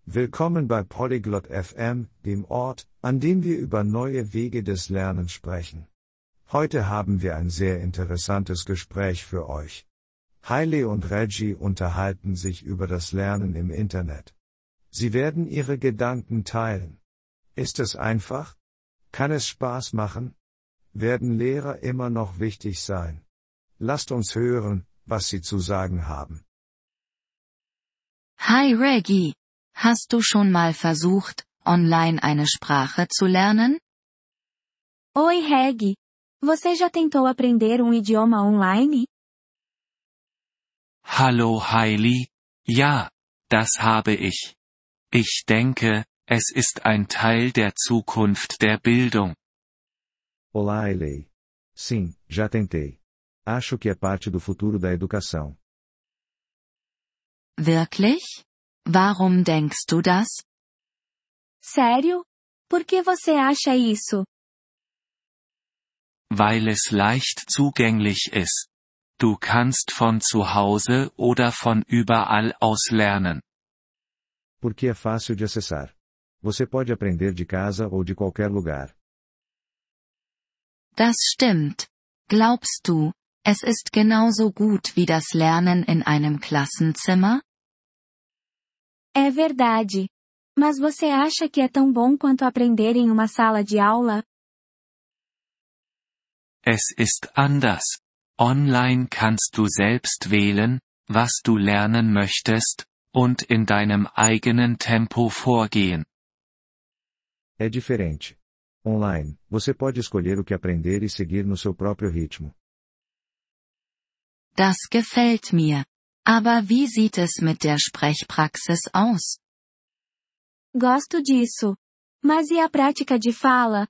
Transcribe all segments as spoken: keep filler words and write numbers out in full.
Willkommen bei Polyglot F M, dem Ort, an dem wir über neue Wege des Lernens sprechen. Heute haben wir ein sehr interessantes Gespräch für euch. Hailey und Reggie unterhalten sich über das Lernen im Internet. Sie werden ihre Gedanken teilen. Ist es einfach? Kann es Spaß machen? Werden Lehrer immer noch wichtig sein? Lasst uns hören, was sie zu sagen haben. Hi Reggie, hast du schon mal versucht, online eine Sprache zu lernen? Oi Reg, você já tentou aprender um idioma online? Hallo Hailey, ja, das habe ich. Ich denke, es ist ein Teil der Zukunft der Bildung. Olá Hailey. Sim, já tentei. Acho que é parte do futuro da educação. Wirklich? Warum denkst du das? Sério? Por que você acha isso? Weil es leicht zugänglich ist. Du kannst von zu Hause oder von überall aus lernen. Porque é fácil de acessar. Você pode aprender de casa ou de qualquer lugar. Das stimmt. Glaubst du, es ist genauso gut wie das Lernen in einem Klassenzimmer? É verdade. Mas você acha que é tão bom quanto aprender em uma sala de aula? Es ist anders. Online kannst du selbst wählen, was du lernen möchtest, und in deinem eigenen Tempo vorgehen. É diferente. Online, você pode escolher o que aprender e seguir no seu próprio ritmo. Das gefällt mir. Aber wie sieht es mit der Sprechpraxis aus? Gosto disso. Mas e a prática de fala?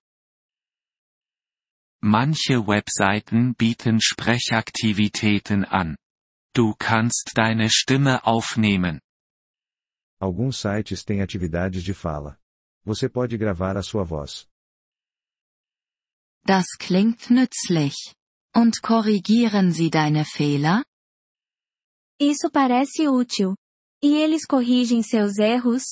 Manche Webseiten bieten Sprechaktivitäten an. Du kannst deine Stimme aufnehmen. Alguns sites têm atividades de fala. Você pode gravar a sua voz. Das klingt nützlich. Und korrigieren sie deine Fehler? Isso parece útil. E eles corrigem seus erros?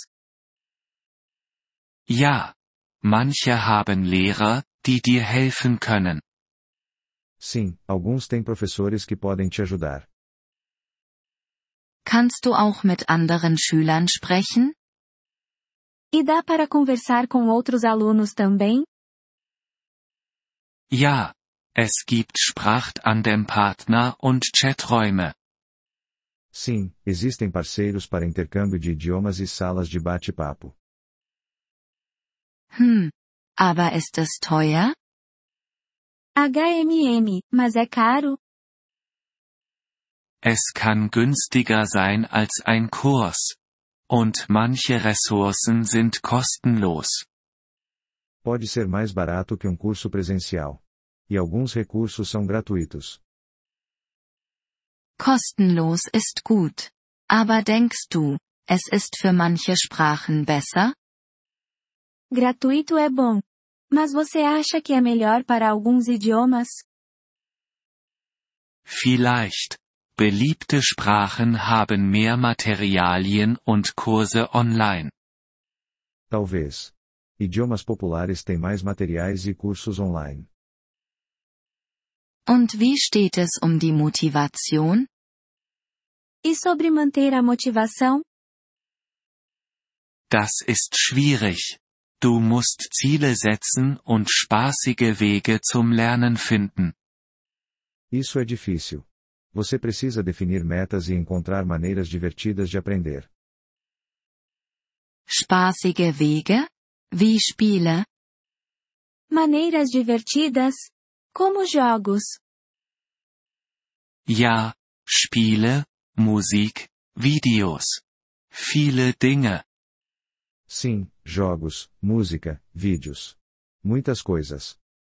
Ja. Manche haben Lehrer, die dir helfen können. Sim, alguns têm professores que podem te ajudar. Kannst du auch mit anderen Schülern sprechen? E dá para conversar com outros alunos também? Ja. Es gibt Sprachtandem-Partner und Chaträume. Sim, existem parceiros para intercâmbio de idiomas e salas de bate-papo. Hm. Aber ist es teuer? H M M, mas é caro? Es kann günstiger sein als ein Kurs. Und manche Ressourcen sind kostenlos. Pode ser mais barato que um curso presencial. E alguns recursos são gratuitos. Kostenlos ist gut. Aber denkst du, es ist für manche Sprachen besser? Gratuito é bom. Mas você acha que é melhor para alguns idiomas? Vielleicht. Beliebte Sprachen haben mehr Materialien und Kurse online. Talvez. Idiomas populares têm mais materiais e cursos online. Und wie steht es um die Motivation? E sobre manter a motivação? Das ist schwierig. Du musst Ziele setzen und spaßige Wege zum Lernen finden. Isso é difícil. Você precisa definir metas e encontrar maneiras divertidas de aprender. Spaßige Wege? Wie Spiele? Maneiras divertidas? Como jogos? Ja, Spiele, Musik, Videos. Viele Dinge. Sim, jogos, música, vídeos. Muitas coisas.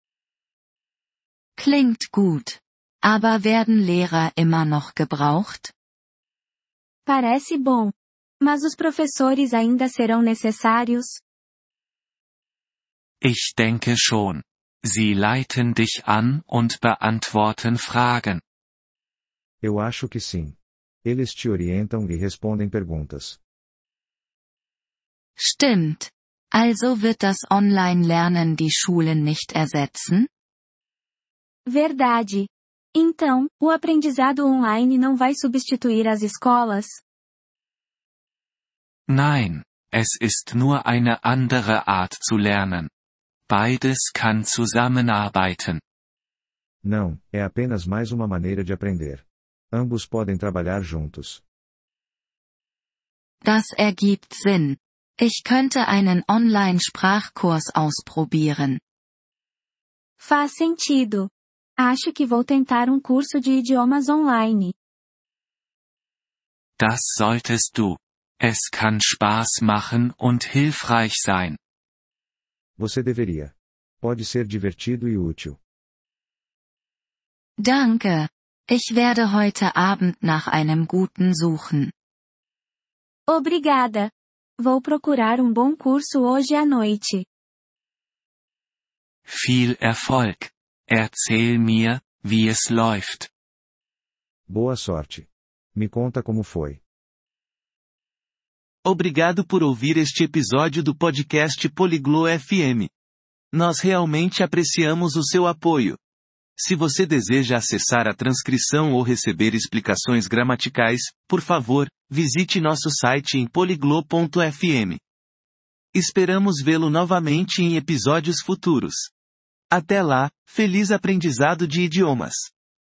Klingt gut. Aber werden Lehrer immer noch gebraucht? Parece bom. Mas os professores ainda serão necessários? Ich denke schon. Sie leiten dich an und beantworten Fragen. Eu acho que sim. Eles te orientam e respondem perguntas. Stimmt. Also wird das Online-Lernen die Schulen nicht ersetzen? Verdade. Então, o aprendizado online não vai substituir as escolas? Nein, es ist nur eine andere Art zu lernen. Beides kann zusammenarbeiten. Não, é apenas mais uma maneira de aprender. Ambos podem trabalhar juntos. Das ergibt Sinn. Ich könnte einen Online-Sprachkurs ausprobieren. Faz sentido. Acho que vou tentar um curso de idiomas online. Das solltest du. Es kann Spaß machen und hilfreich sein. Você deveria. Pode ser divertido e útil. Danke. Ich werde heute Abend nach einem guten suchen. Obrigada. Vou procurar um bom curso hoje à noite. Viel Erfolg. Erzähl mir, wie es läuft. Boa sorte. Me conta como foi. Obrigado por ouvir este episódio do podcast Poliglo F M. Nós realmente apreciamos o seu apoio. Se você deseja acessar a transcrição ou receber explicações gramaticais, por favor, visite nosso site em poliglo ponto f m. Esperamos vê-lo novamente em episódios futuros. Até lá, feliz aprendizado de idiomas!